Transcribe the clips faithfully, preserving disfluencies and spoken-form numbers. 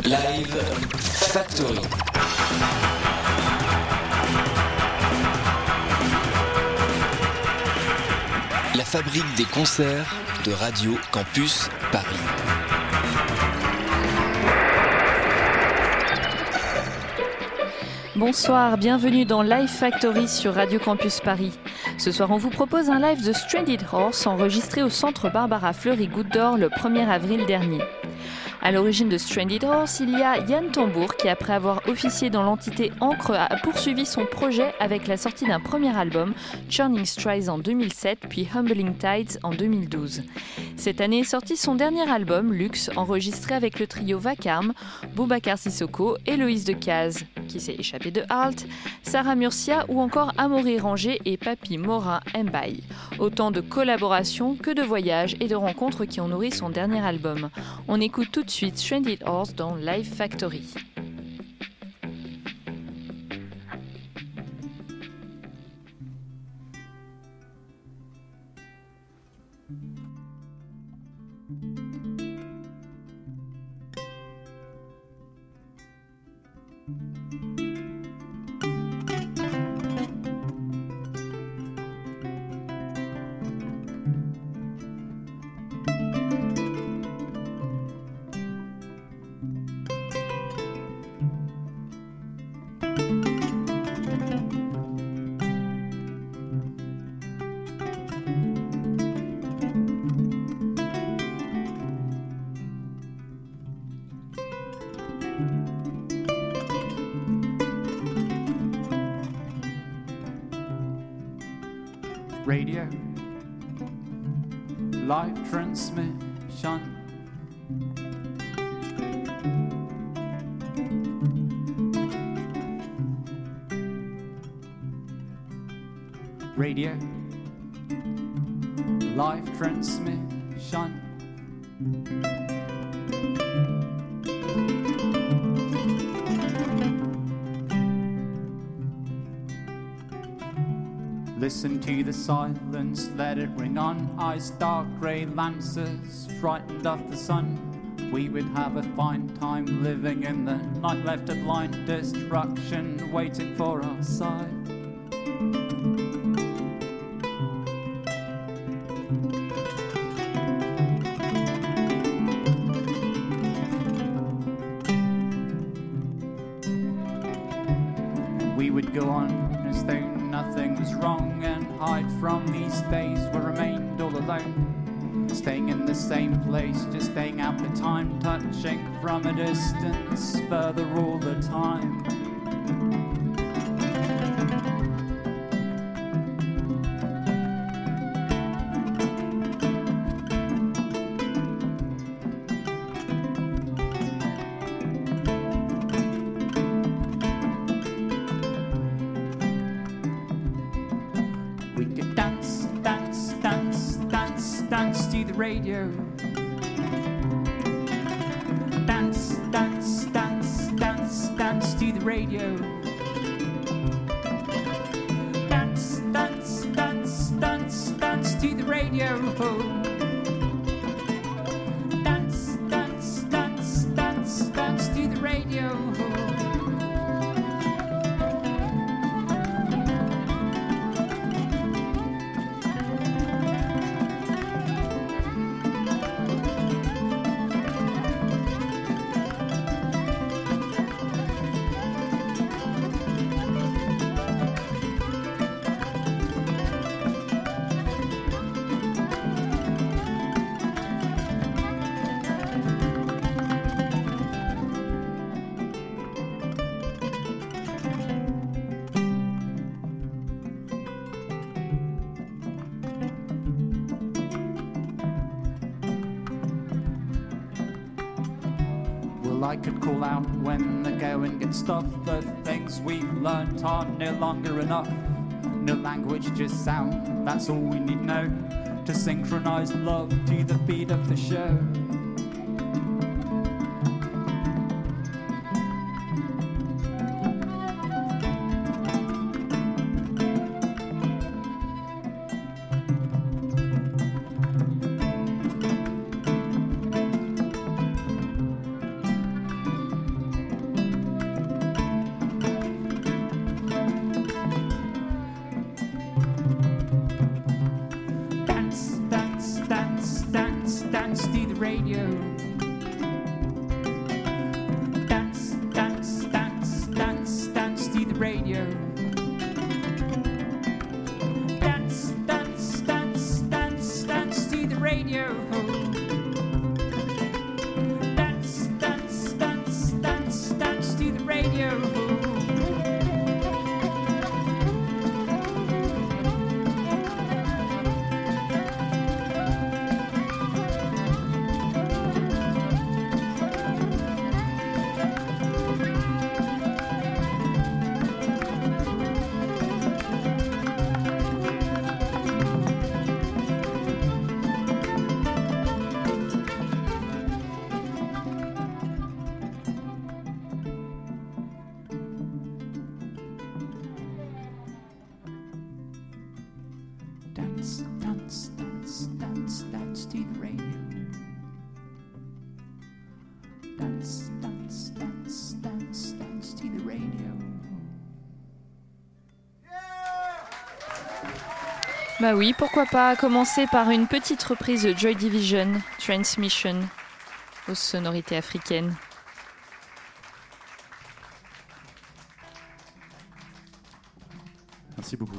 Live Factory. La fabrique des concerts de Radio Campus Paris. Bonsoir, bienvenue dans Live Factory sur Radio Campus Paris. Ce soir, on vous propose un live de Stranded Horse enregistré au centre Barbara Fleury Goutte d'Or le premier avril dernier. À l'origine de Stranded Horse, il y a Yann Tambour qui, après avoir officié dans l'entité Encre, a poursuivi son projet avec la sortie d'un premier album, Churning Strides en deux mille sept, puis Humbling Tides en deux mille douze. Cette année est sorti son dernier album, Luxe, enregistré avec le trio Vacarme, Boubacar Sissoko, Héloïse Decazes, qui s'est échappée de Halt, Sarah Murcia ou encore Amaury Ranger et Papy Morin Mbaye. Autant de collaborations que de voyages et de rencontres qui ont nourri son dernier album. On écoute tout de suite Stranded Horse dans Live Factory. Radio, live transmission. Radio, live transmission. Listen to the silence, let it ring on. Eyes dark, grey lancers, frightened of the sun. We would have a fine time living in the night, left to blind destruction, waiting for our side. And we would go on as though nothing was wrong and hide from these days. We remained all alone, staying in the same place, just staying out the time, touching from a distance, further all the time. Radio. Dance, dance, dance, dance, dance to the radio. Dance, dance, dance, dance, dance to the radio. Dance, dance, dance, dance, dance to the radio. I could call out when the going gets tough. The things we've learnt are no longer enough. No language, just sound, that's all we need know to synchronize love to the beat of the show. radio. Dance, dance, dance, dance, dance to the radio. Dance, dance, dance, dance, dance to the radio. Dance, dance, dance, dance, dance to the radio. Dance, dance, dance, dance, dance to the radio. Dance, dance, dance, dance, dance to the radio. Bah oui, pourquoi pas commencer par une petite reprise de Joy Division, Transmission, aux sonorités africaines. Merci beaucoup.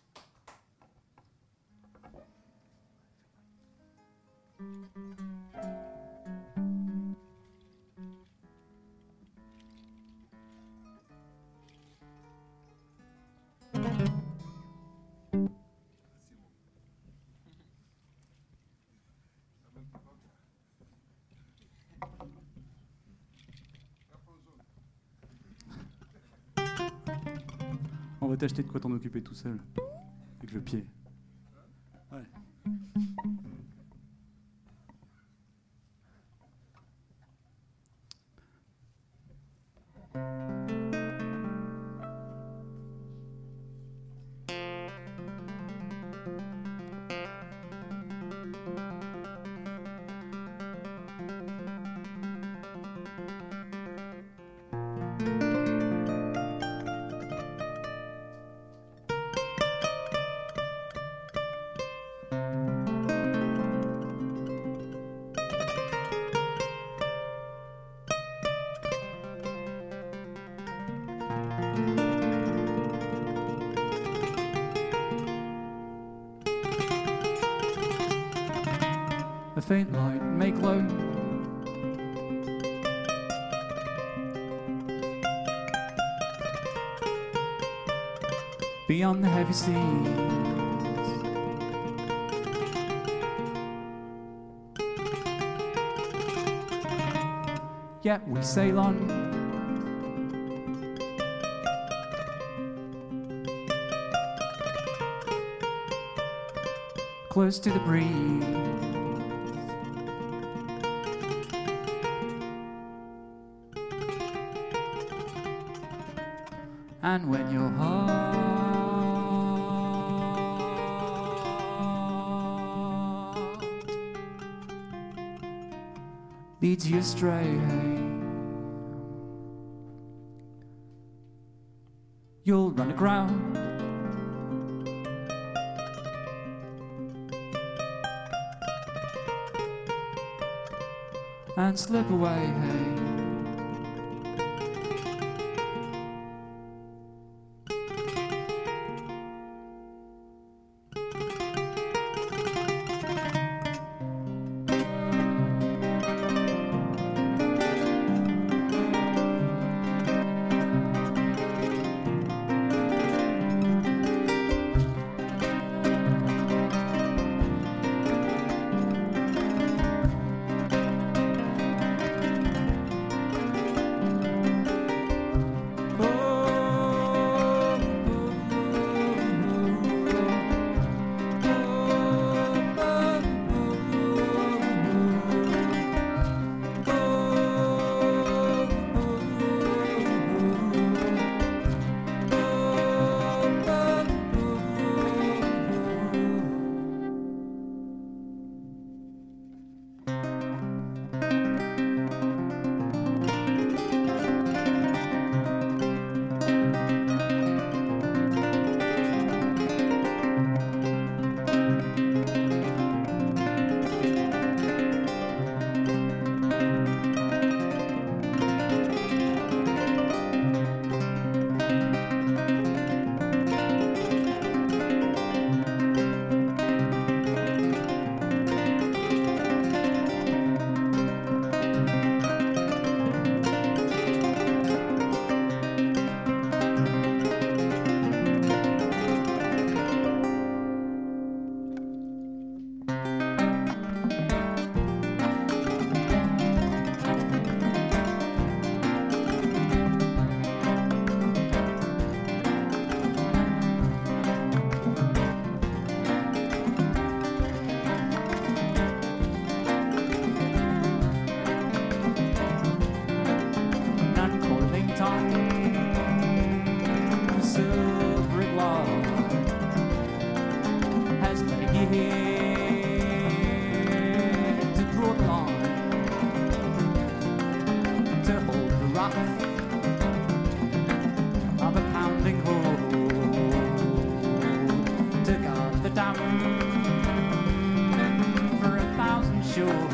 On va t'acheter de quoi t'en occuper tout seul, avec le pied. Ouais. A faint light make low. Beyond the heavy seas, yet we sail on. Close to the breeze. And when your heart leads you astray, you'll run aground. And slip away, hey. enough of a pounding hold to guard the dam for a thousand shores.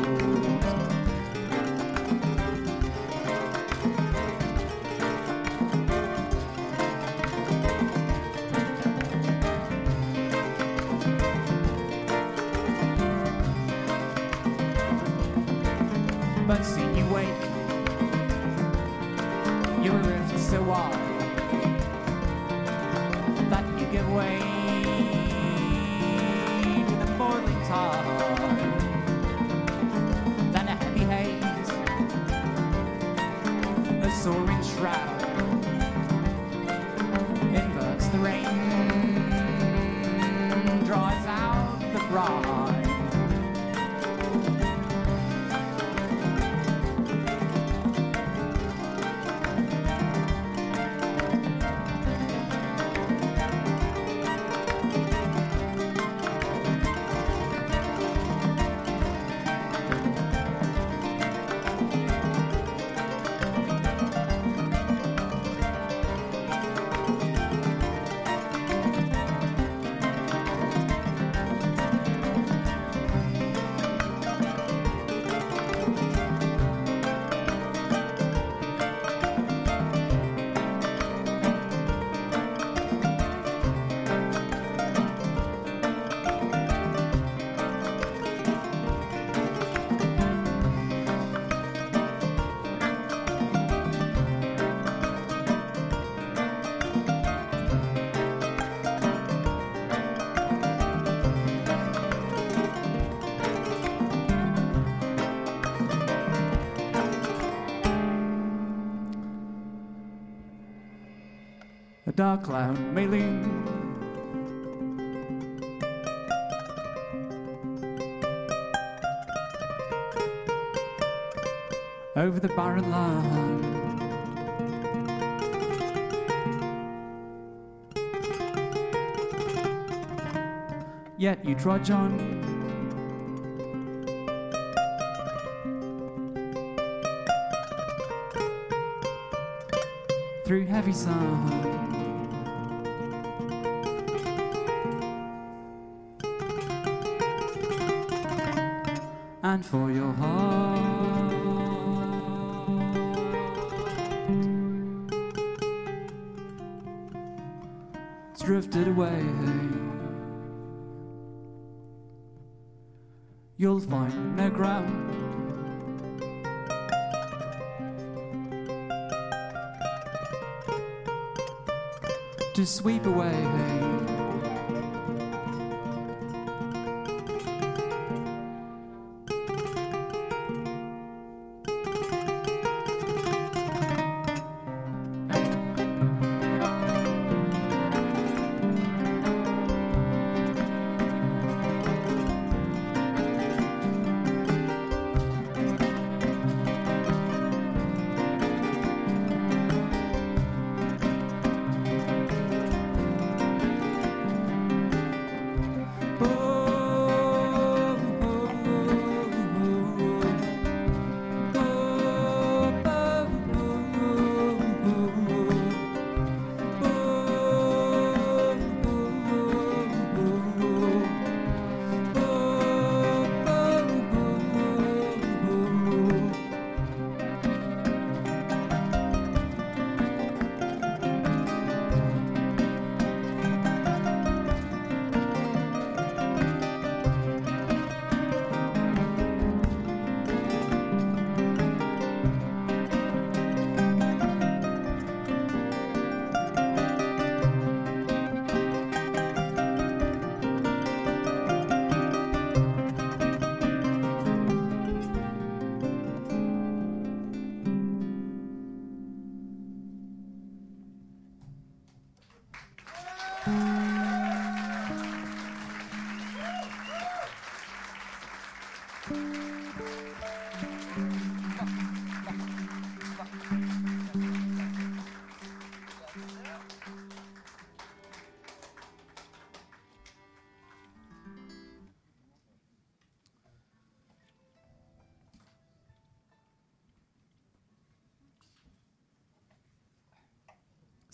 But see you wake, your rift so wide that you give way to the boiling tide. Then a heavy haze, a soaring shroud, inverts the rain, dries out the brine. A dark cloud may lean over the barren land. Yet you trudge on, through heavy sun. And for your heart, it's drifted away. You'll find no ground to sweep away.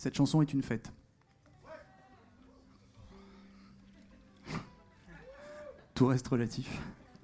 Cette chanson est une fête. Tout reste relatif.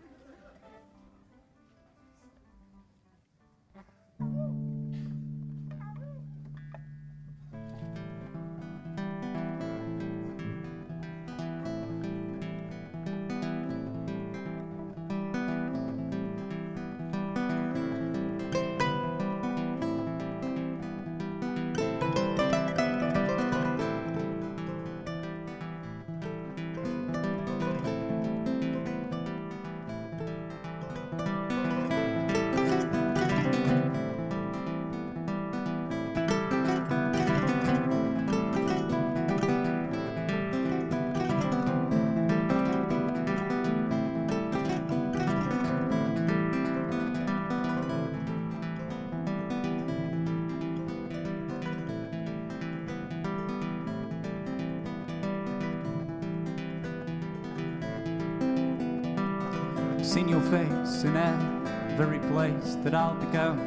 Seen your face in every place that I'll be going.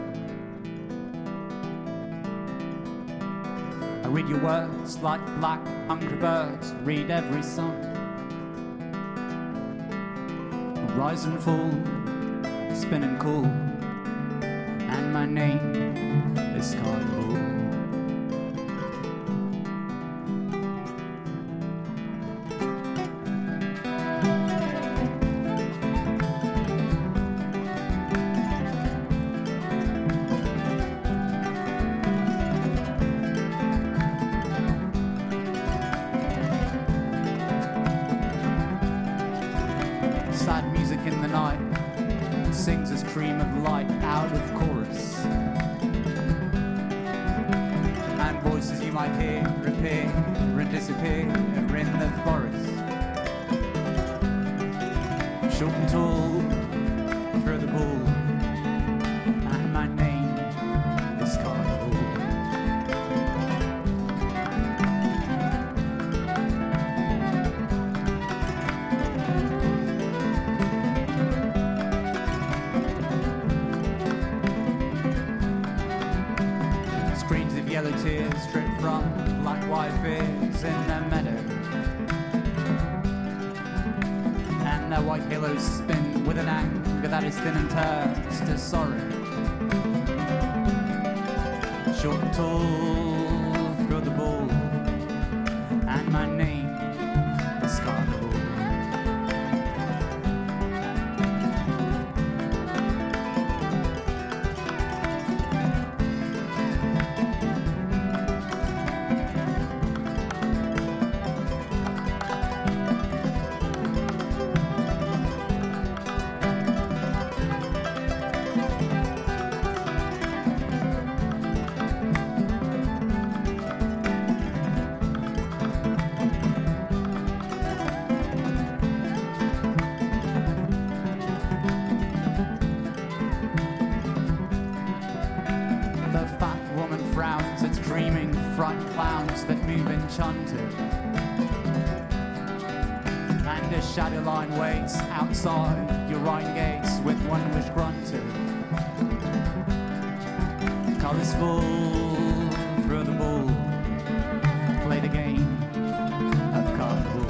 I read your words like black hungry birds, read every song. Rise and fall, spin and cool, and my name is Carnival. Sad music in the night sings a stream of light out of chorus, and voices you might hear appear and disappear in the forest. Short and tall, through the ball, and my name is Carnival. Yellow tears drip from black white fears in the meadow, and their white halos spin with an anger that is thin and turns to sorrow. Short and tall, through the ball, and my name is Carnival. Dreaming front clowns that move enchanted, and a shadow line waits outside your iron gates with one wish granted. Colours fall through the ball, play the game of Carnival.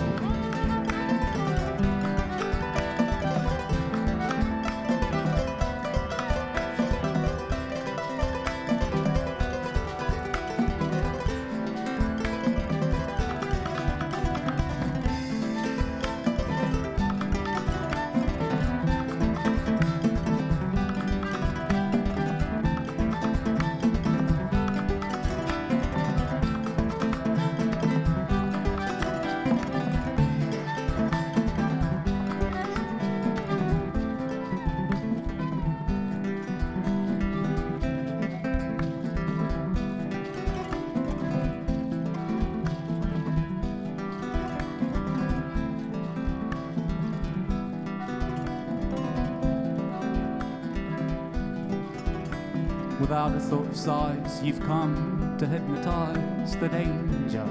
Without a thought of size, you've come to hypnotize the danger.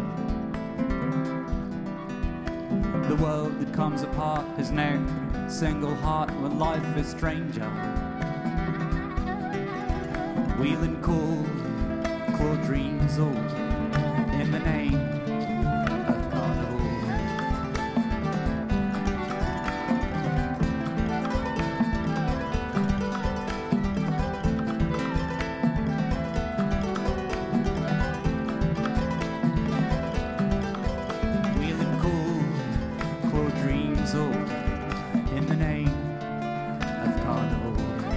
The world that comes apart has no single heart where life is stranger. Wheel and call, claw dreams all, in the name of carnival. Wheeling cool, cool dreams all in the name of carnival.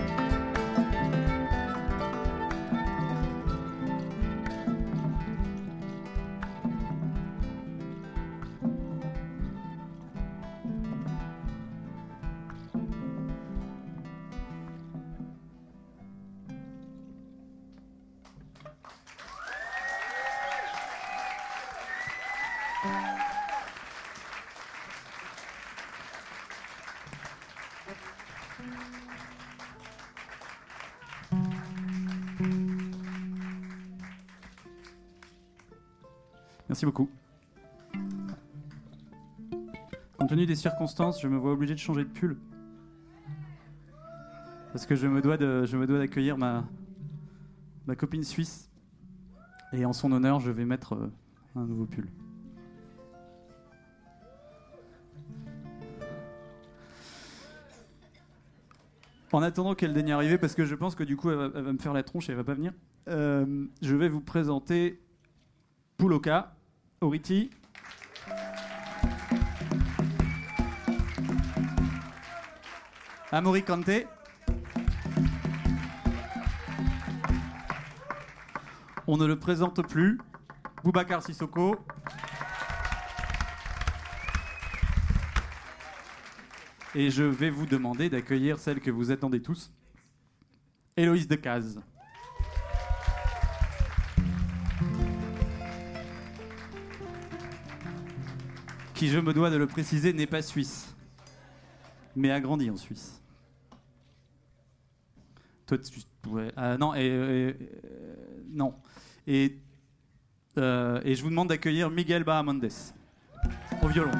Merci beaucoup. Compte tenu des circonstances, je me vois obligé de changer de pull. Parce que je me dois, de, je me dois d'accueillir ma, ma copine suisse. Et en son honneur, je vais mettre euh, un nouveau pull. En attendant qu'elle daigne arriver, parce que je pense que du coup, elle va, elle va me faire la tronche et elle va pas venir, euh, je vais vous présenter Pouloka, Oriti, Amaury Kanté, on ne le présente plus, Boubacar Sissoko, et je vais vous demander d'accueillir celle que vous attendez tous, Héloïse Decazes. Qui, je me dois de le préciser, n'est pas suisse, mais a grandi en Suisse. Toi, tu... ouais, euh, non, et, et, et non. Et, euh, et je vous demande d'accueillir Miguel Bahamondes au violon.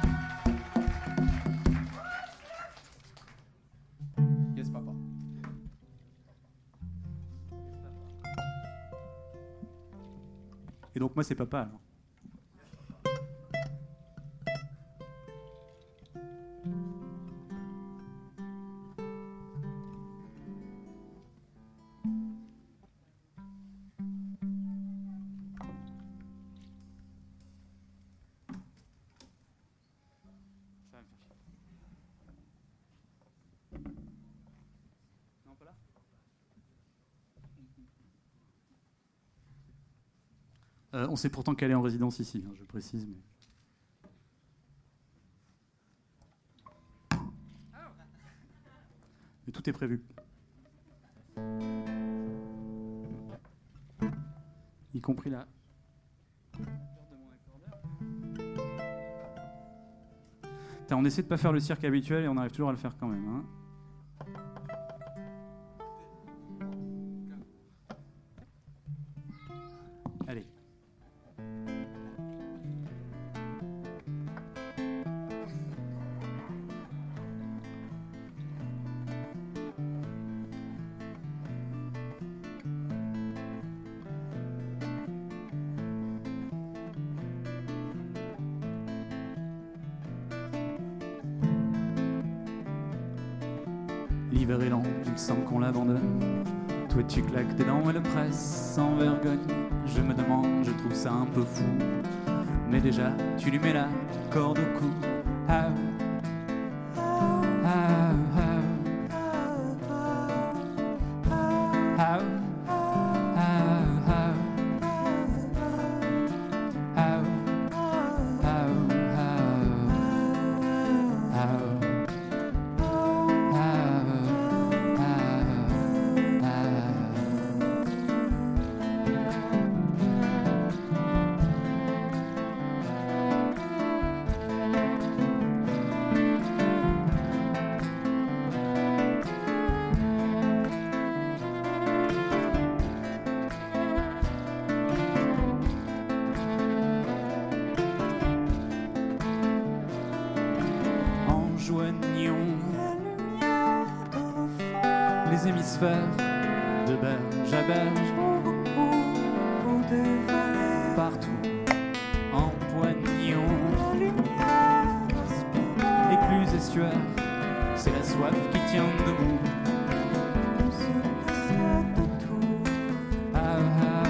Yes, papa. Et donc moi, c'est papa alors. Euh, on sait pourtant qu'elle est en résidence ici, hein, je précise. Mais... mais tout est prévu. Y compris là. Putain, on essaie de pas faire le cirque habituel et on arrive toujours à le faire quand même. Hein. Allez. L'hiver est lent, il semble qu'on l'abandonne. Toi tu claques tes dents et le presses sans vergogne. Je me demande, je trouve ça un peu fou. Mais déjà, tu lui mets la corde au cou. Ah, ah, ah, ah, ah, les hémisphères de berge à berge, partout en poignons. Écluses estuaires, c'est la soif qui tient debout. Ah, ah.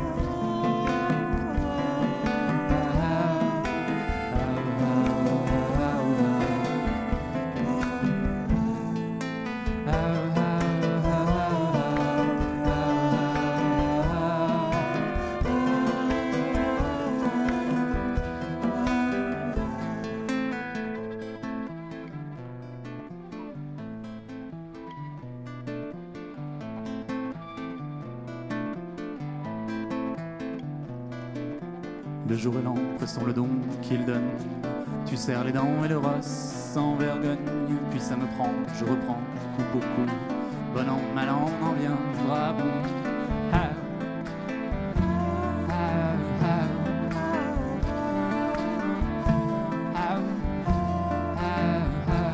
Le jour est lent, pressons le don qu'il donne. Tu serres les dents et le ras sans vergogne. Puis ça me prend, je reprends, coup pour coup. Bon an, mal an, on en viendra bon. Ah. Ah, ah. Ah, ah, ah.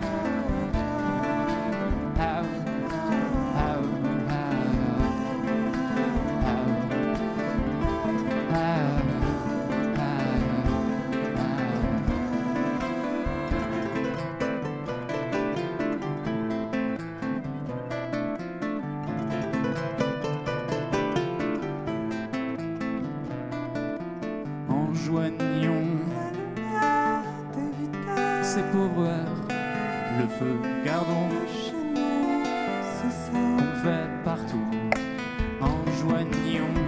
Ah, ah, Joignons ces pauvres heures, le feu gardons qu'on fait partout. Enjoignons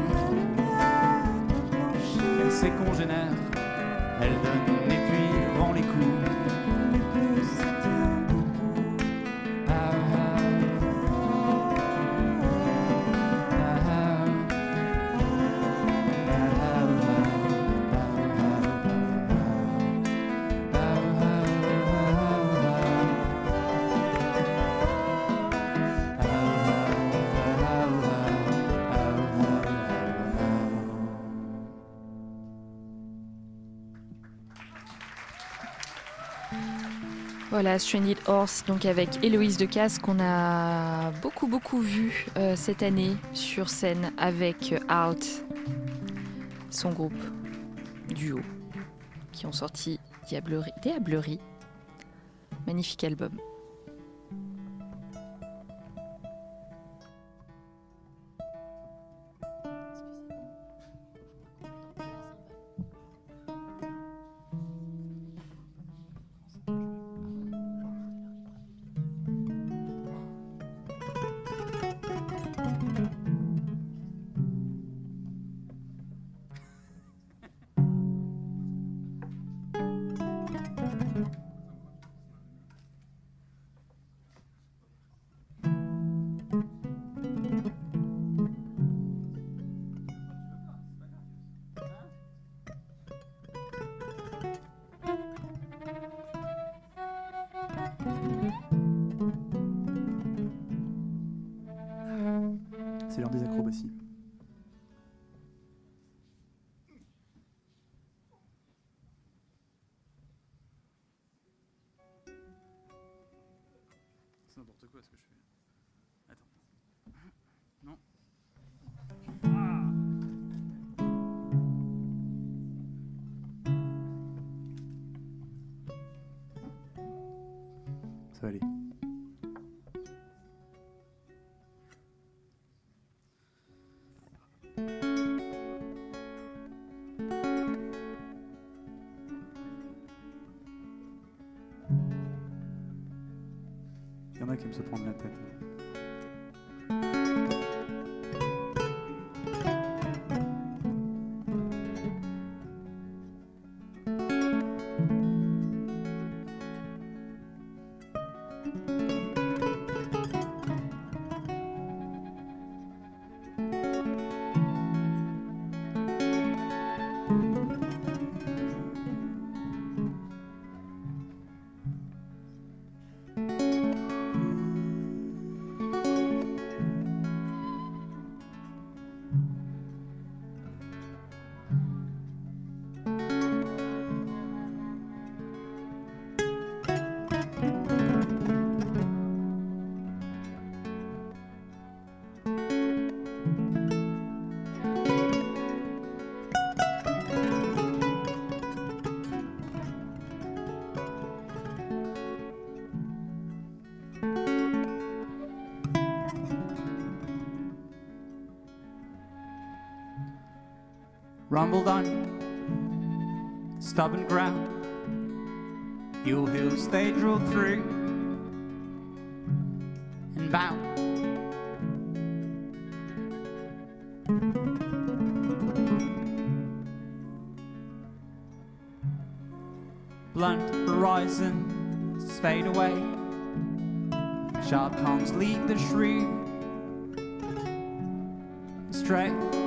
elle sait qu'on génère, elle donne et puis rend les coups. Ah, ah. Voilà, Stranded Horse, donc avec Héloïse Decazes qu'on a beaucoup beaucoup vu euh, cette année sur scène avec euh, Out, son groupe duo, qui ont sorti Diablerie, Diablerie, magnifique album. C'est l'heure des acrobaties. C'est n'importe quoi ce que je fais. Attends. Non. Ça va aller. Il y en a qui aiment se prendre la tête. rumbled on stubborn ground. Your hills they drilled through and bound. Blunt horizons fade away. Sharp tongues lead the shrew astray.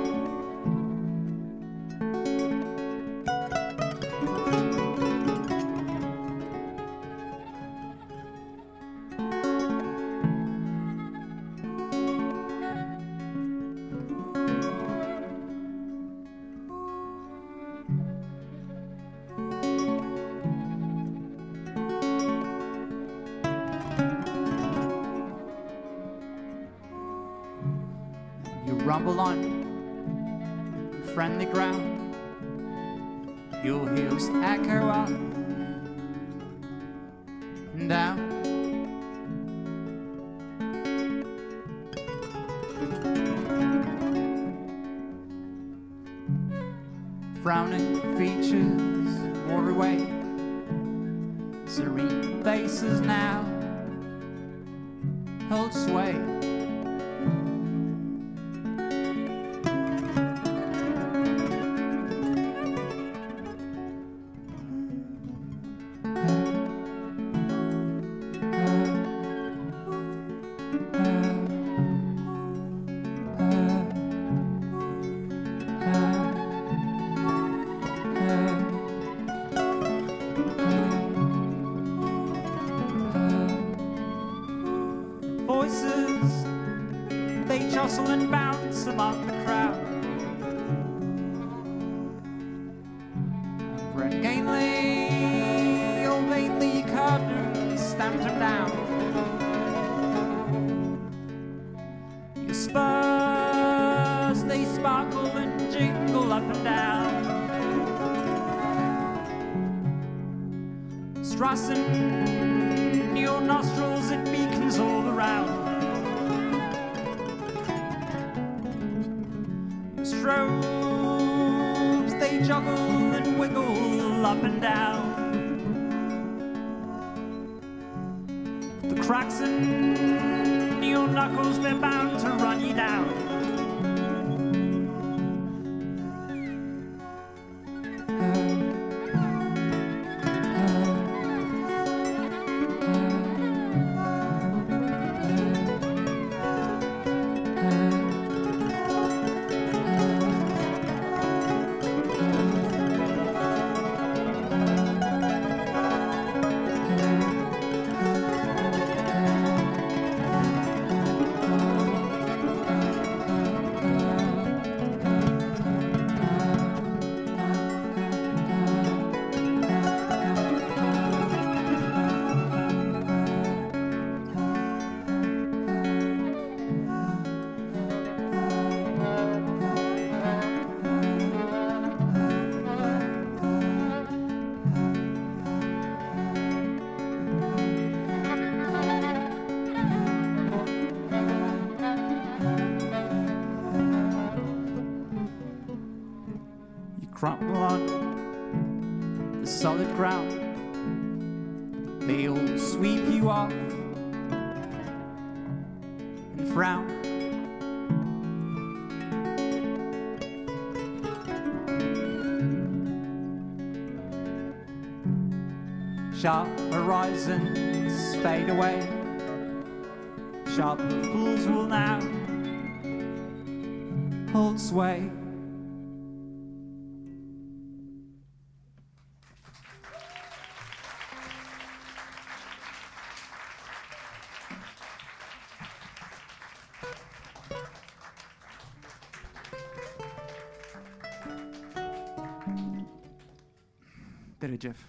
Rumble on friendly ground. Your heels echo up and down. Frowning features wore away. Serene faces now hold sway. Voices, they jostle and bounce among the crowd. Red gainly, or vainly curtains stamped him down. Your spurs, they sparkle and jingle up and down. Strassen your nostrils, it beacons all around. Your strobes, they juggle and wiggle up and down. The cracks in your knuckles, they're bound to run you down. Crumple on the solid ground. They all sweep you off and frown. Sharp horizons fade away. Sharp fools will now hold sway. Did it, Jeff?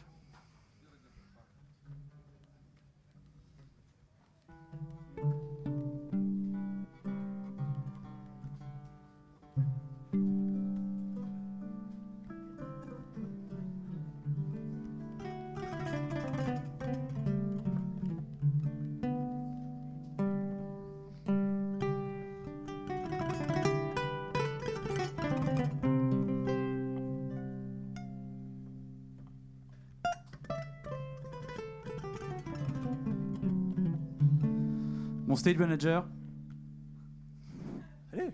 stage manager. Allez.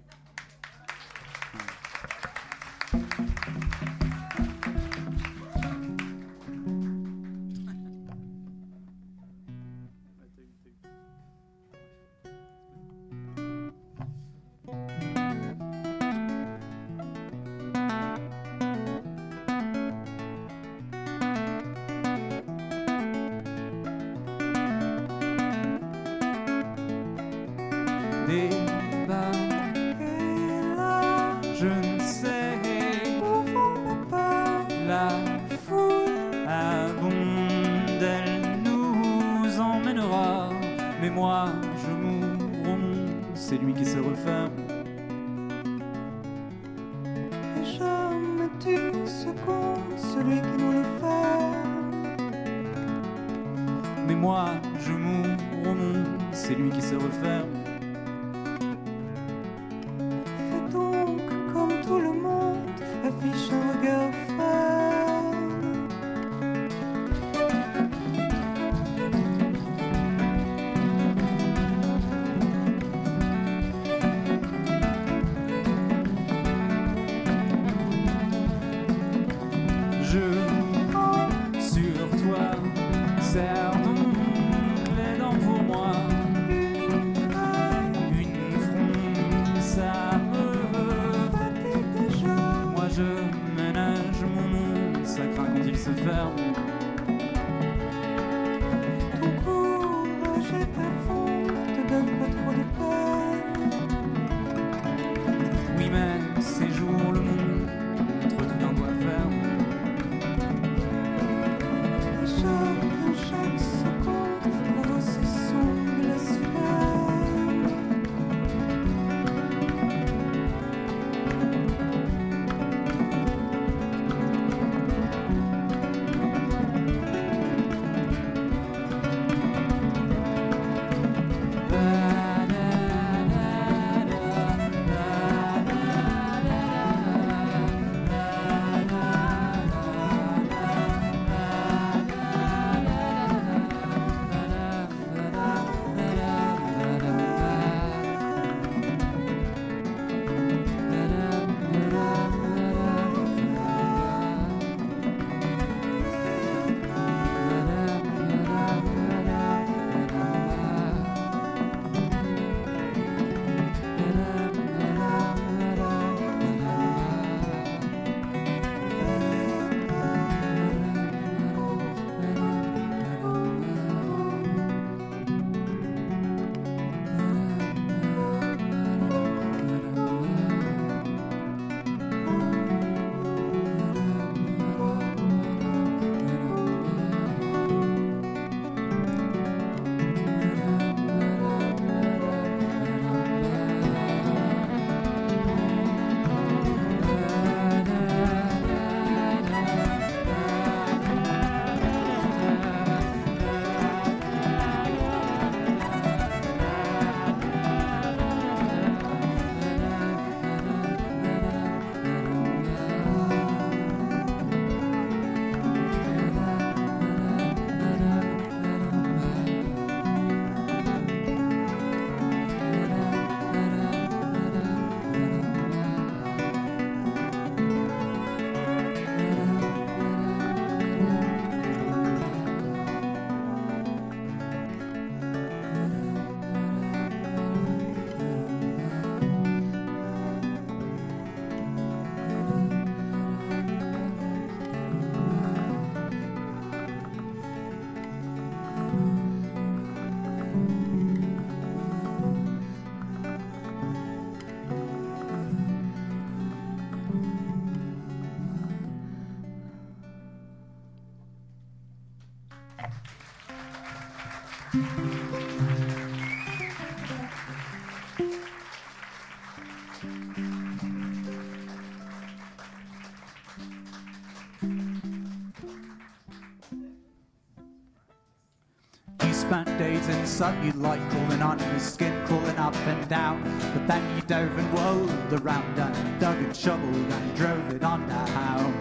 Spent days in the sun, you like crawling on the skin, crawling up and down. But then you dove and whirled around and dug and shoveled and drove it on the how.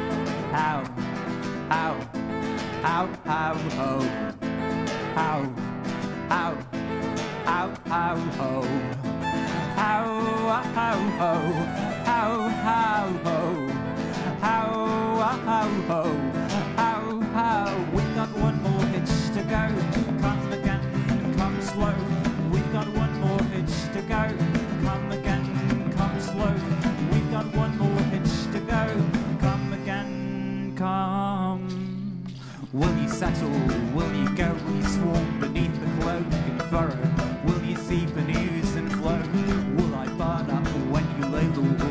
How, how, how, how, how, how, how, how, how ho, how how ho, how how ho, how how ho, how how. We've got one more hitch to go. Come again, come slow. We've got one more hitch to go. Come again, come slow. We've got one more hitch to go. Come again, come. Will you settle? Will you go? Will you swarm beneath the cloak and furrow? Will you see the news and flow? Will I burn up when you lay low?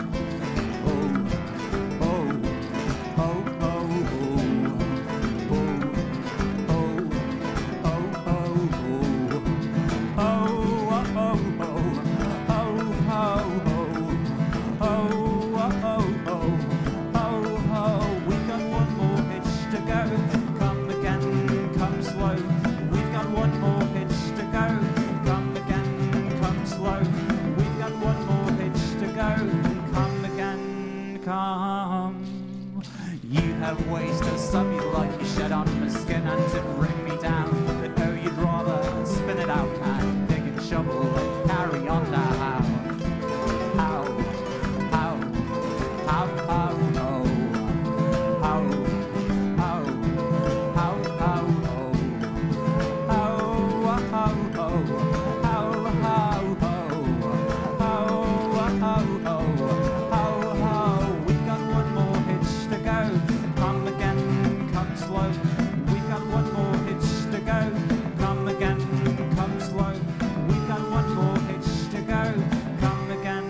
Have ways to sub you like you shed on my skin and to bring me down. But oh, you'd rather spin it out and dig and shovel and carry on now. How, how, how, how, no. How, how, how, how, no. How, how, how, how, how, how, how, how, how, how, how. We've got one more hitch to go. Come again, come slow. We've got one more hitch to go. Come again, come slow. We've got one more hitch to go. Come again.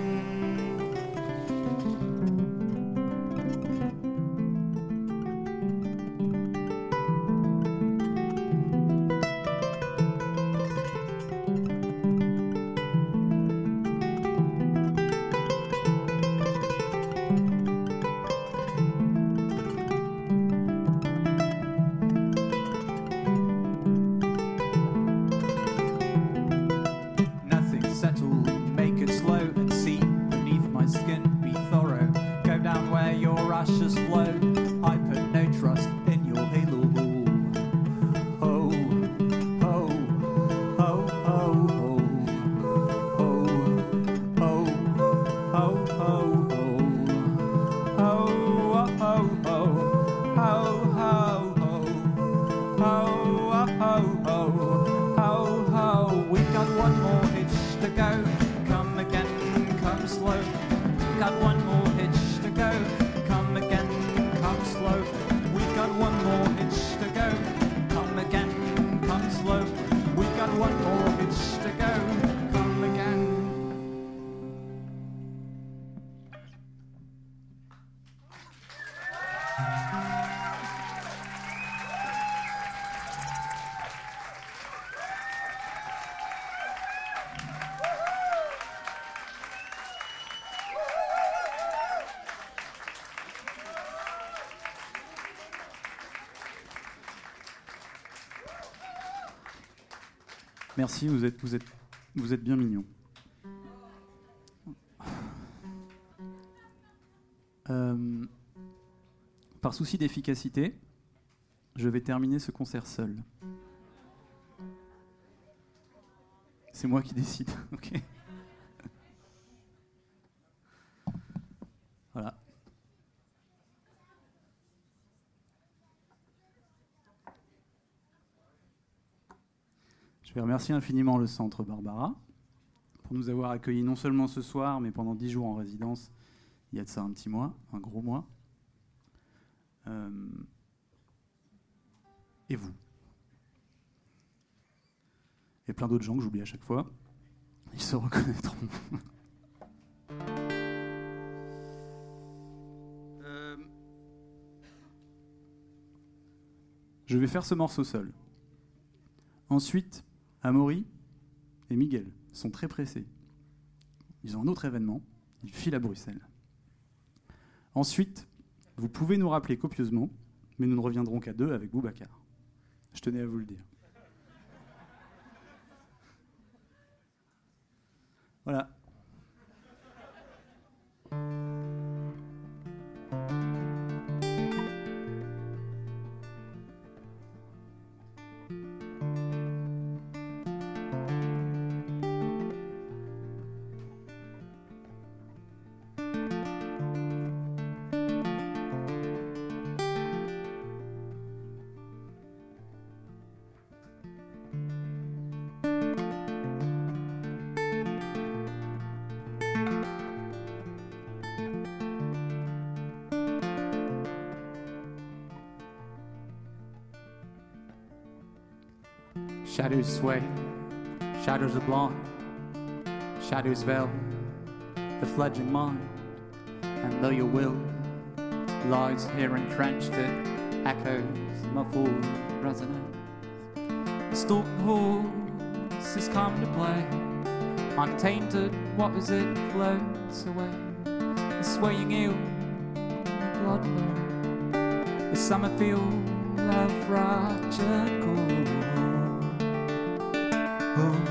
Merci, vous êtes, vous êtes, vous êtes bien mignon. Euh, par souci d'efficacité, je vais terminer ce concert seul. C'est moi qui décide, ok ? Voilà. Je vais remercier infiniment le Centre Barbara pour nous avoir accueillis non seulement ce soir, mais pendant dix jours en résidence, il y a de ça un petit mois, un gros mois. Euh, et vous. Et plein d'autres gens que j'oublie à chaque fois. Ils se reconnaîtront. euh, je vais faire ce morceau seul. Ensuite, Amaury et Miguel sont très pressés. Ils ont un autre événement. Ils filent à Bruxelles. Ensuite, vous pouvez nous rappeler copieusement, mais nous ne reviendrons qu'à deux avec Boubacar. Je tenais à vous le dire. Voilà. Shadows sway, shadows are blind, shadows veil the fledgling mind, and though your will lies here entrenched, it echoes muffled resonance. The stalking horse has come to play, untainted, what is it floats away, the swaying eel, the blood flow, the summer field of fractured gold. Oh.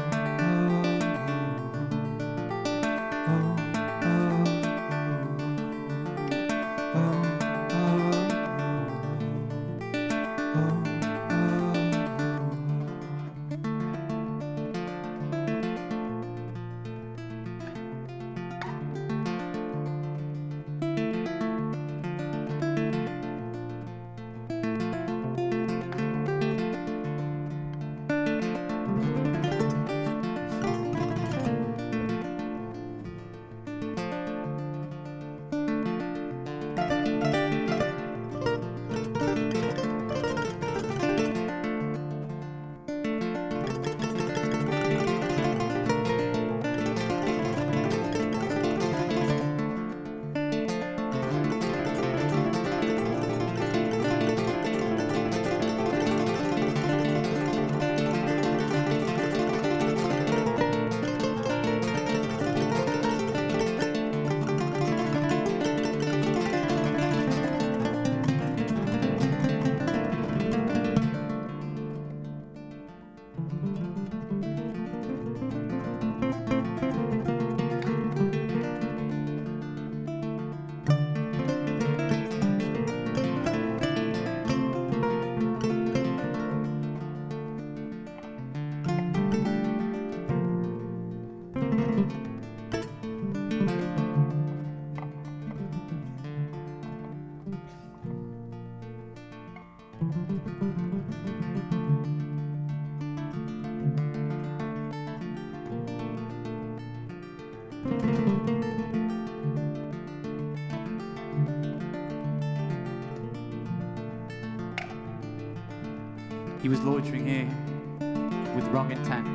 He was loitering here with wrong intent.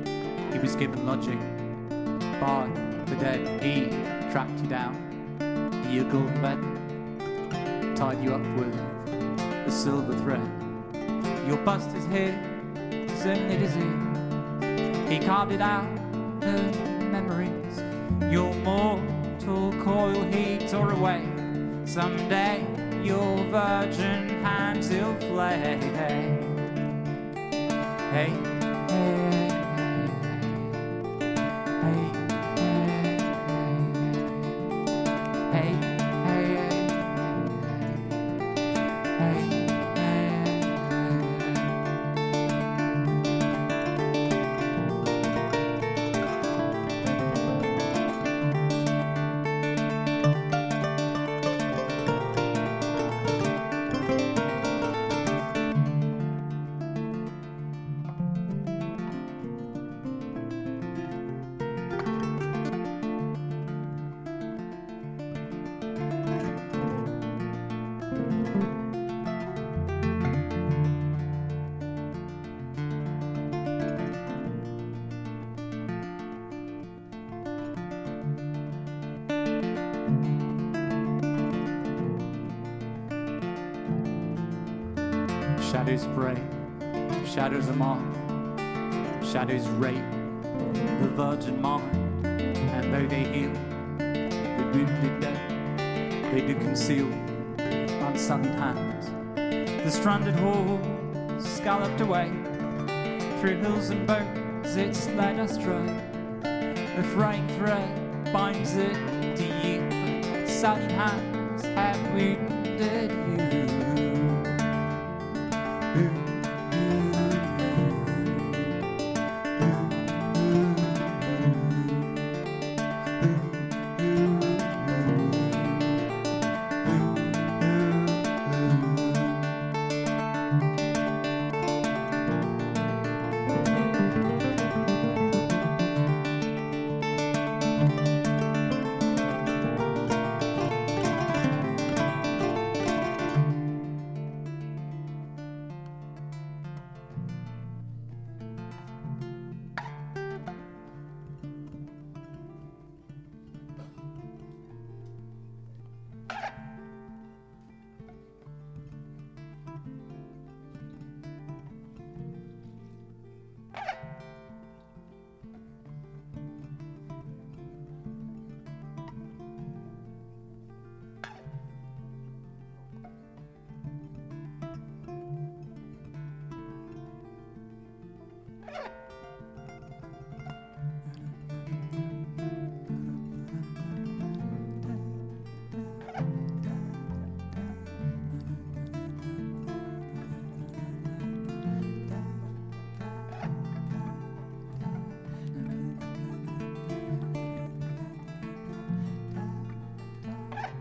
He was given lodging by the dead. He tracked you down to your golden bed, tied you up with a silver thread. Your bust is here, certainly dizzy. He carved it out of memories. Your mortal coil he tore away. Someday your virgin hands he'll flay. Hey, hey, hey, hey, hey, hey, hey, Shadows pray, shadows are mine, shadows rape the virgin mind, and though they heal the wounded dead, they do conceal unsullied hands. The stranded horse scalloped away through hills and bones, it's led astray. The fraying thread binds it to you, sullied hands have wounded you.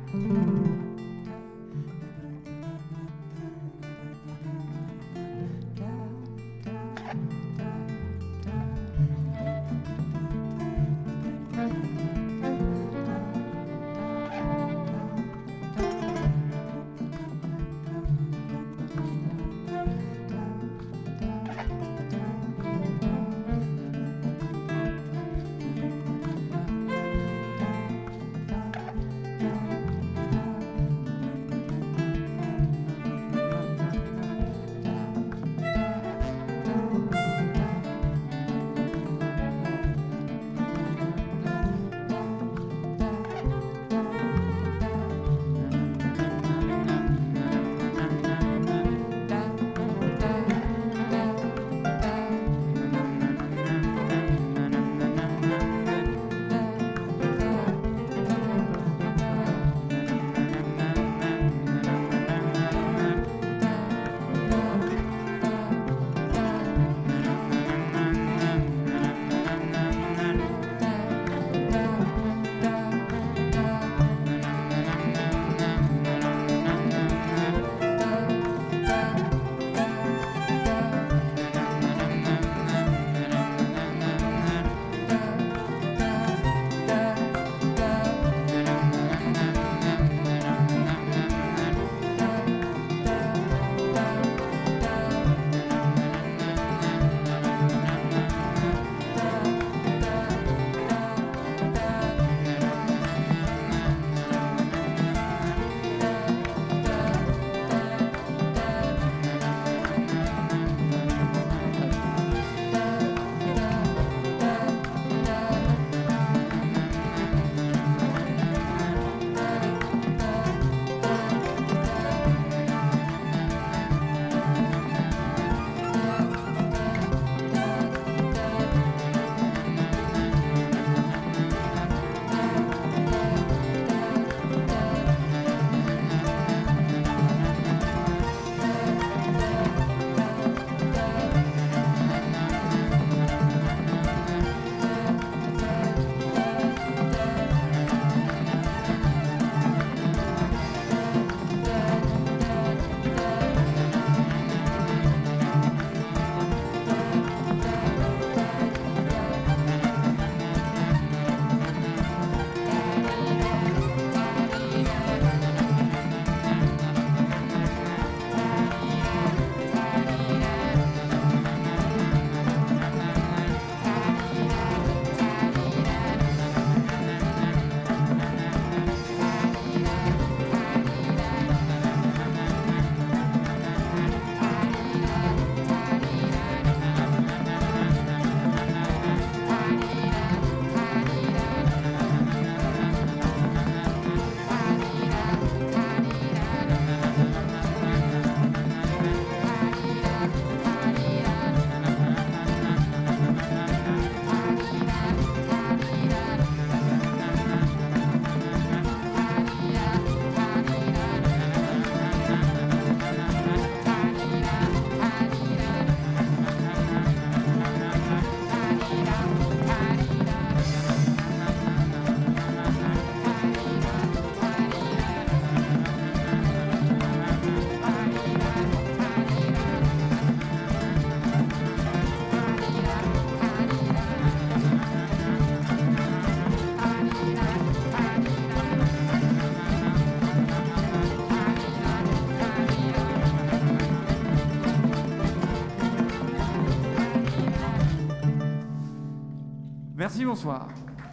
Merci, bonsoir.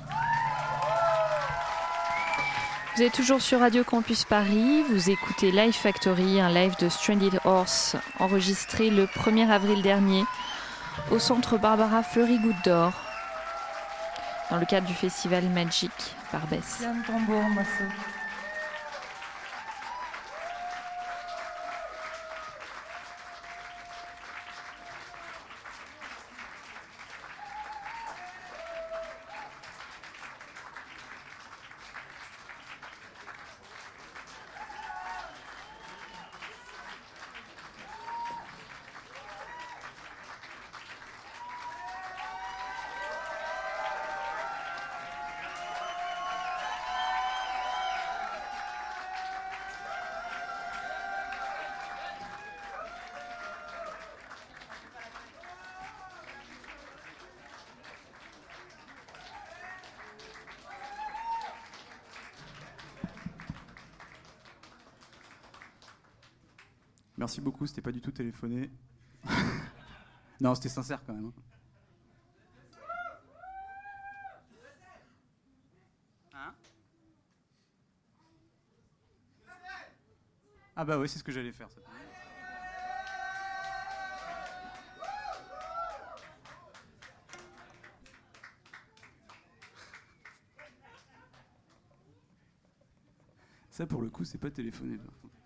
Vous êtes toujours sur Radio Campus Paris, vous écoutez Live Factory, un live de Stranded Horse enregistré le premier avril dernier au centre Barbara Fleury Goutte d'Or dans le cadre du festival Magic Barbès. Yann Tambour, Masso. merci beaucoup, c'était pas du tout téléphoné. Non, c'était sincère quand même. Hein? Ah bah oui, c'est ce que j'allais faire. Ça. Ça, pour le coup, c'est pas téléphoné. Par contre.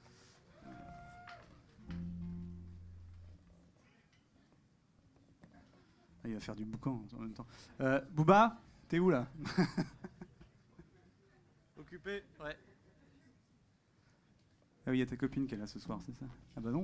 Ah, il va faire du boucan en même temps. Euh, Booba, t'es où là? Occupé? Ouais. Ah oui, il y a ta copine qui est là ce soir, c'est ça? Ah bah non.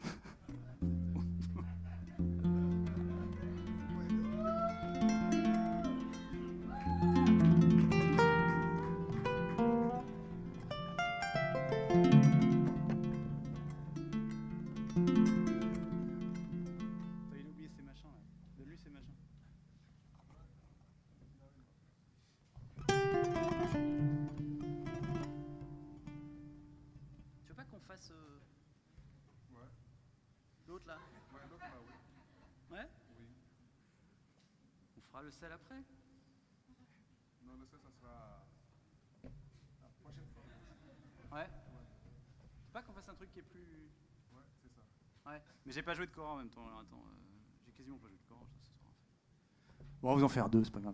L'autre là? Ouais, l'autre là, oui. Ouais? Oui. On fera le sel après? Non, le sel, ça sera la prochaine fois. Ouais? Ouais. C'est pas qu'on fasse un truc qui est plus... Ouais, c'est ça. Ouais, mais j'ai pas joué de cor en même temps, alors attends, euh, j'ai quasiment pas joué de cor ce soir. Bon, on va vous en faire deux, c'est pas grave.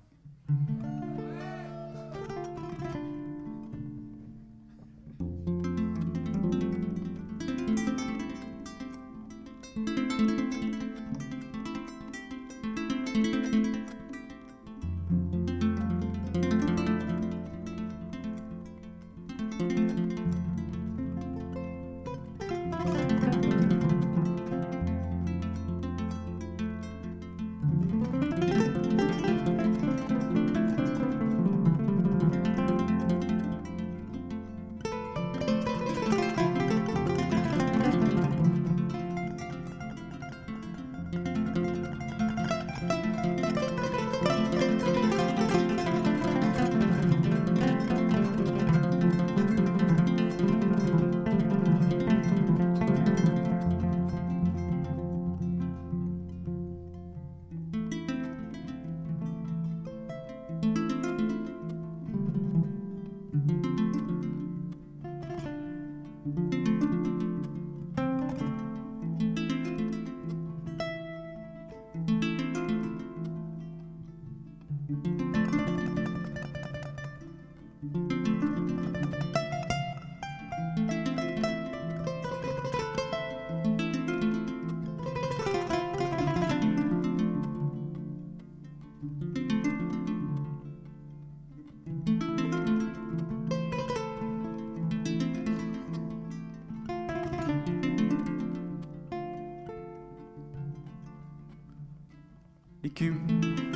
Écume,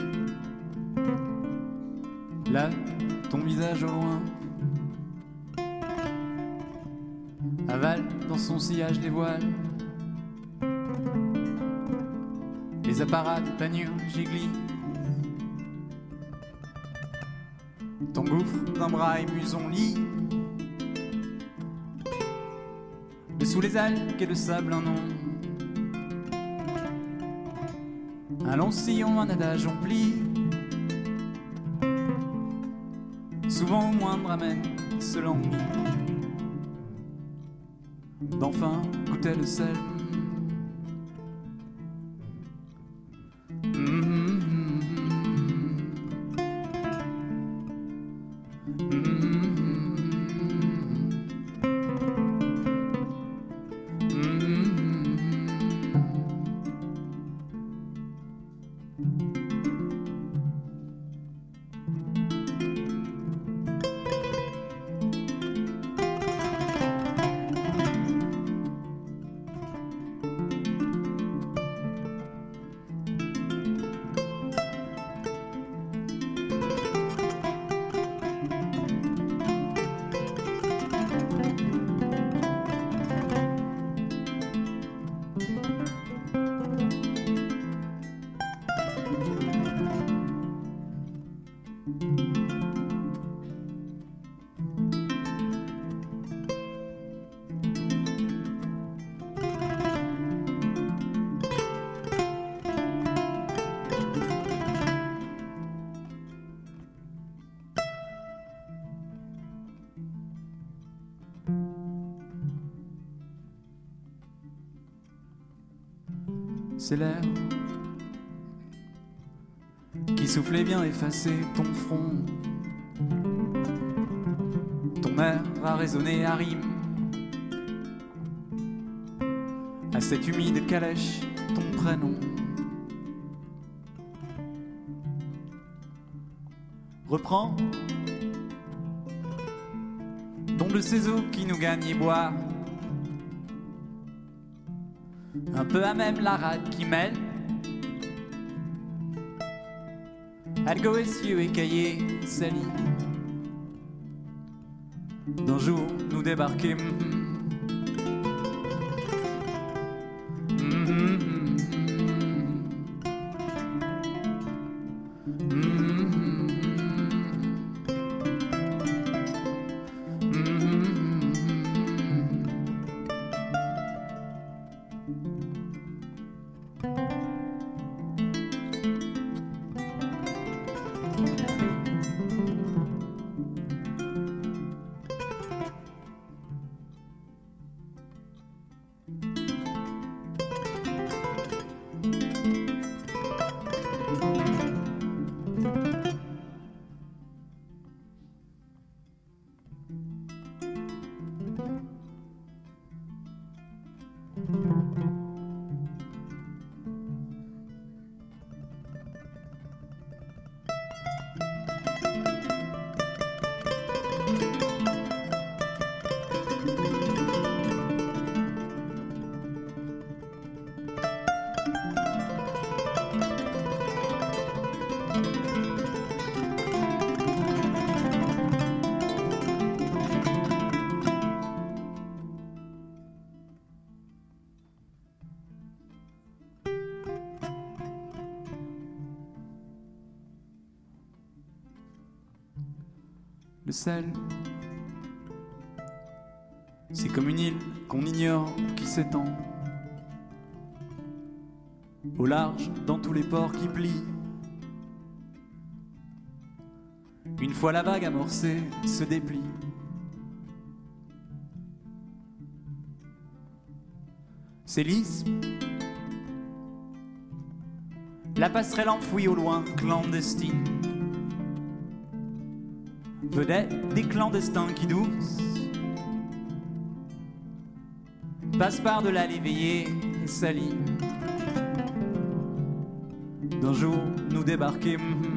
là, ton visage au loin avale dans son sillage des voiles les apparats des panniers giglis. Ton gouffre d'un bras ému son lit, et sous les algues et le sable un nom. Un long sillon, un adage en pli, souvent au moindre amène se languit, d'enfin goûter le sel. C'est l'air qui soufflait bien effacer ton front. Ton air a résonné à rime. À cette humide calèche, ton prénom. Reprends don de ces eaux qui nous gagnent et boire. Un peu à même la rade qui mêle. Algo essieux écaillé, sali. D'un jour nous débarquer. Le sel, c'est comme une île qu'on ignore qui s'étend au large dans tous les ports qui plient. Une fois la vague amorcée se déplie. C'est lisse, la passerelle enfouie au loin, clandestine. Vedette des clandestins qui doucent passent par de l'allée éveillée et salie. D'un jour nous débarquer.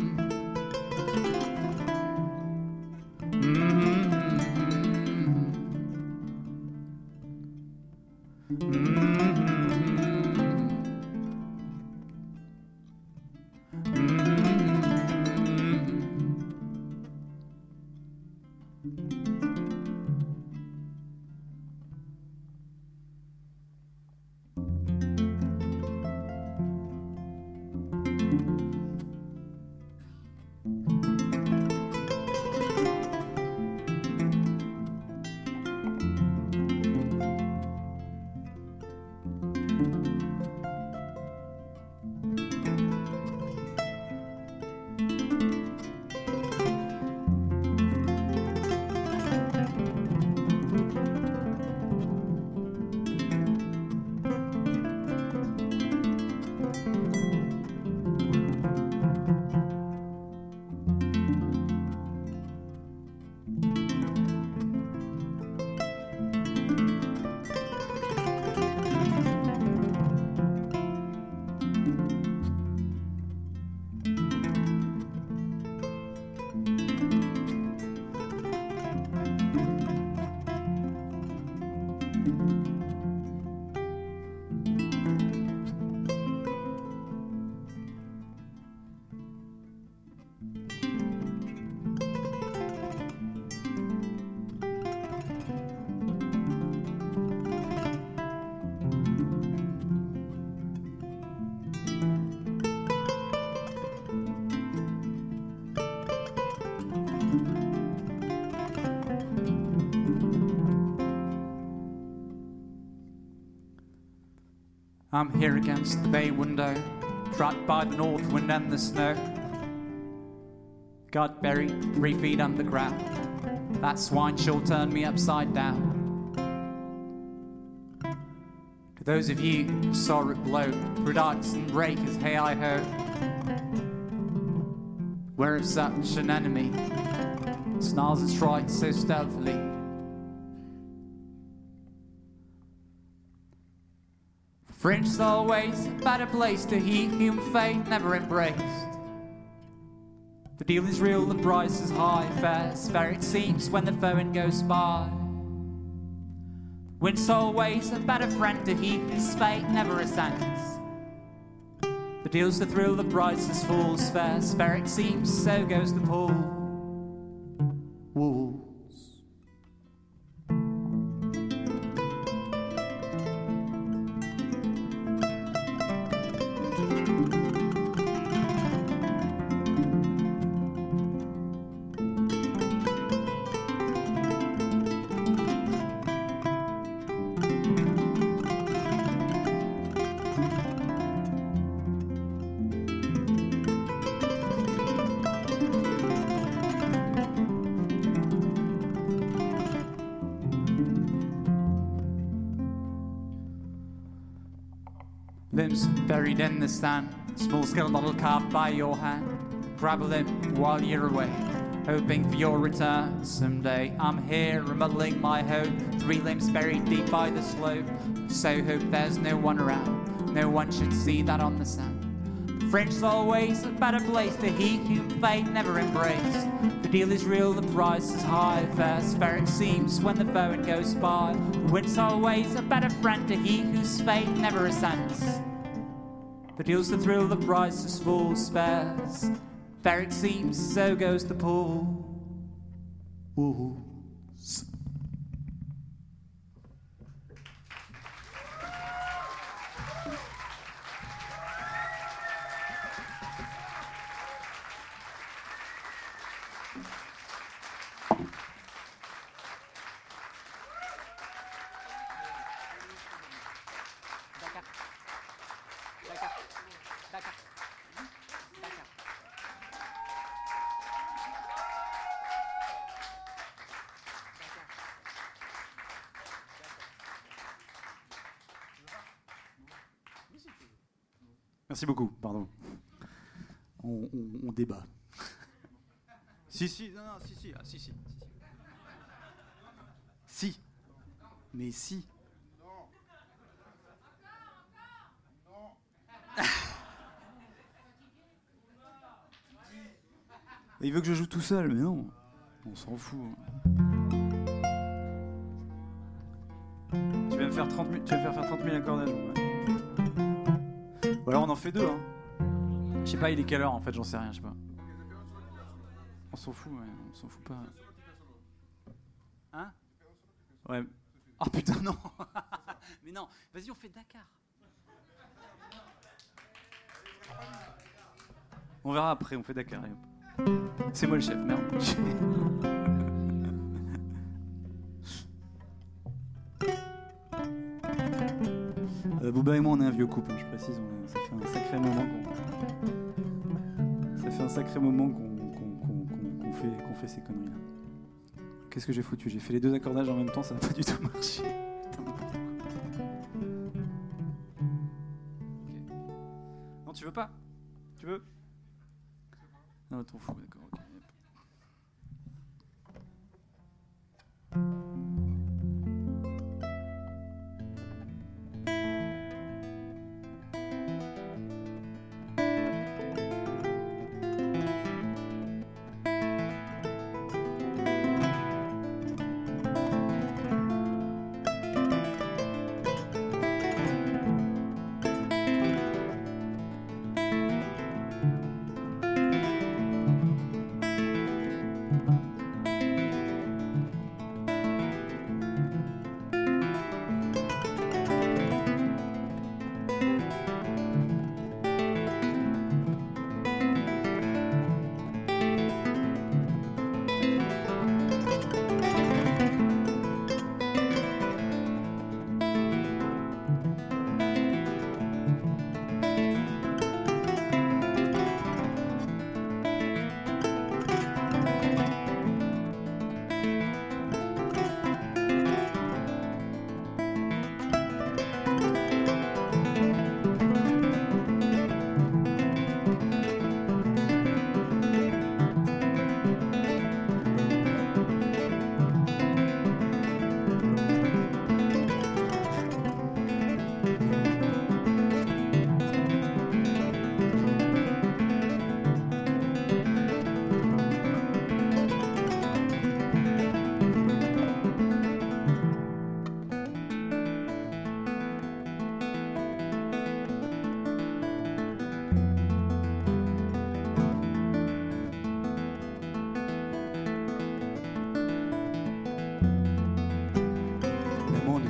I'm here against the bay window, trapped by the north wind and the snow. Got buried three feet underground. That swine sure turned me upside down. For those of you who saw it blow, products and breakers, hey I ho. Where of such an enemy snarls and strikes so stealthily. Fringe's always a better place to he whom fate never embraced. The deal is real, the price is high, fair, fair it seems when the foeman goes by. Wind's always a better friend to he whose fate never ascends. The deal's the thrill, the price is fool's fair, fair it seems, so goes the pull. Wolves. Limbs buried in the sand, small scale model carved by your hand. Grab a limb while you're away, hoping for your return someday. I'm here remodeling my hope, three limbs buried deep by the slope. So hope there's no one around, no one should see that on the sand. The Fringe's always a better place to he whom fate never embraced. The deal is real, the price is high, fair, fair it seems when the foeman goes by. The wind's always a better friend to he whose fate never ascends. The deal's the thrill, the price is fool's fares. Fair it seems, so goes the pull. Wolves. Merci beaucoup, pardon. On, on, on débat. si, si, non, non, si, si, ah, si, si. Si. Mais si. Non. Non. Il veut que je joue tout seul, mais non. On s'en fout. Tu vas me faire trente mille, tu vas me faire faire trente mille accordages. Ouais. Ou alors on en fait deux, hein. Je sais pas, il est quelle heure en fait, j'en sais rien, je sais pas. On s'en fout, ouais, on s'en fout pas. Hein? Ouais. Oh putain, non. Mais non, vas-y, on fait Dakar. On verra après, on fait Dakar. C'est moi le chef, merde. Euh, Booba et moi, on est un vieux couple, je précise. On est, ça fait un sacré moment qu'on, ça fait un sacré moment qu'on, qu'on, qu'on, qu'on, fait, qu'on fait ces conneries-là. Qu'est-ce que j'ai foutu? J'ai fait les deux accordages en même temps, ça n'a pas du tout marché. Putain, n'importe quoi. Okay. Non, tu veux pas? Tu veux? Non, t'en fous, d'accord. Okay.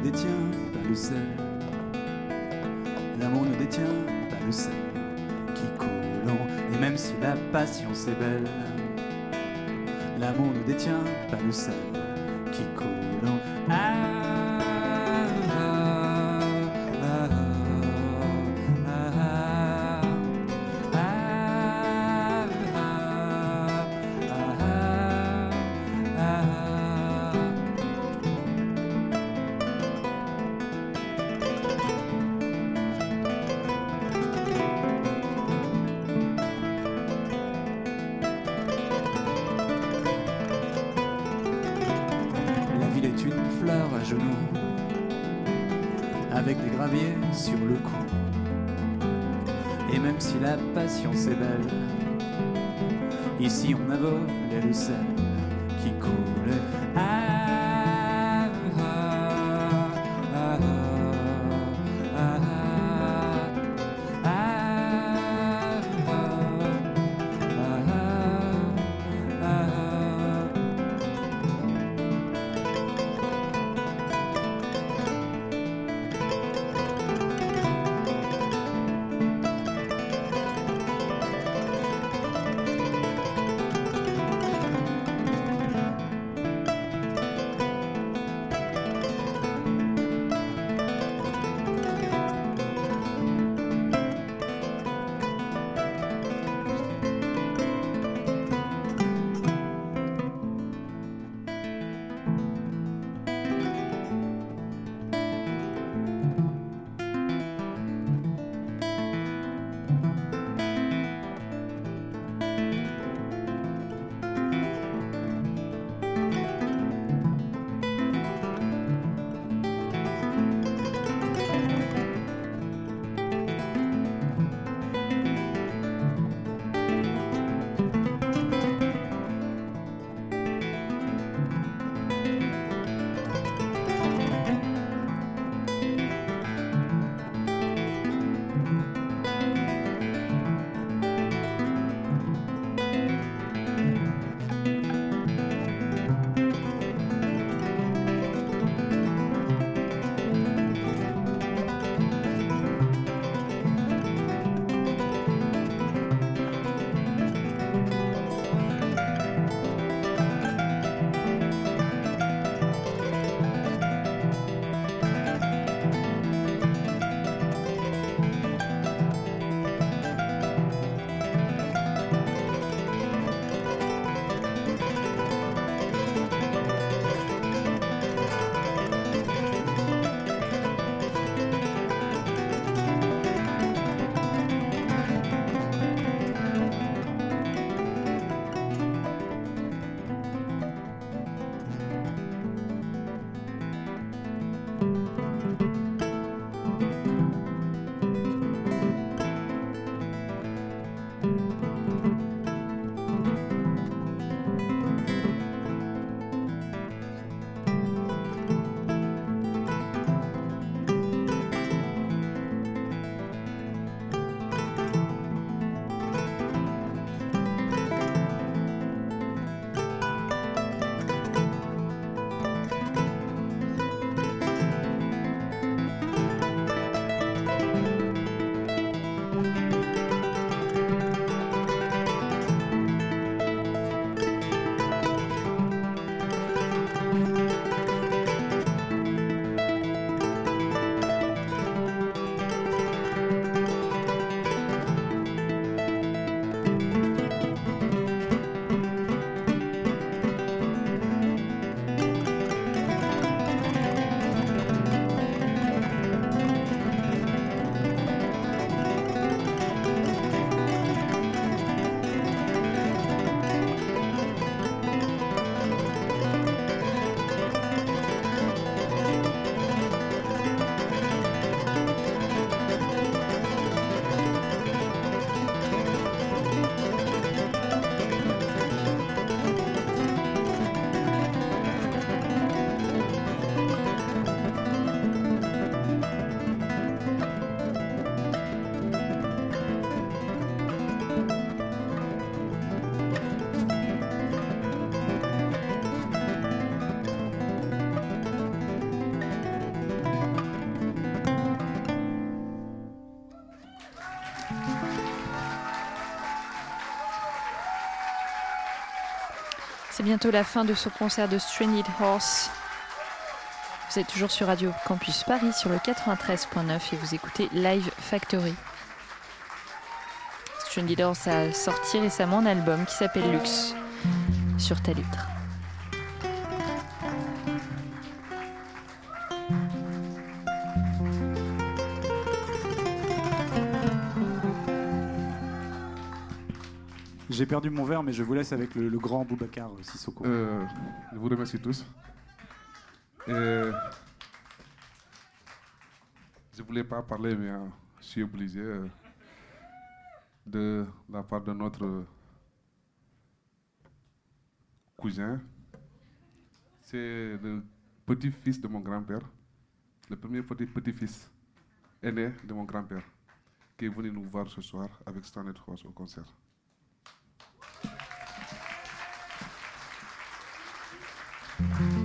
ne détient pas le sel. L'amour ne détient pas le sel qui coule en... Et même si la patience est belle, l'amour ne détient pas le sel qui coule en... Ah, ah, ah, ah, ah, ah, ah, ah. La ville est une fleur à genoux, avec des graviers sur le cou. Et même si la patience est belle, ici on a volé le sel qui coule. Ah, ah, ah, ah, ah, ah, ah, ah, ah. C'est bientôt la fin de ce concert de Stranded Horse. Vous êtes toujours sur Radio Campus Paris sur le quatre-vingt-treize point neuf et vous écoutez Live Factory. Stranded Horse a sorti récemment un album qui s'appelle Lux sur Talitre. J'ai perdu mon verre, mais je vous laisse avec le, le grand Boubacar Sissoko. Euh, je vous remercie tous. Et je ne voulais pas parler, mais euh, je suis obligé euh, de la part de notre cousin. C'est le petit-fils de mon grand-père, le premier petit petit-fils aîné de mon grand-père, qui est venu nous voir ce soir avec Stranded Horse au concert. Thank you.